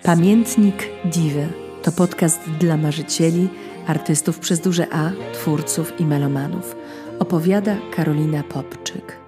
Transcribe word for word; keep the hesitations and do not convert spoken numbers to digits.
Pamiętnik Diwy to podcast dla marzycieli, artystów przez duże A, twórców i melomanów. Opowiada Karolina Popczyk.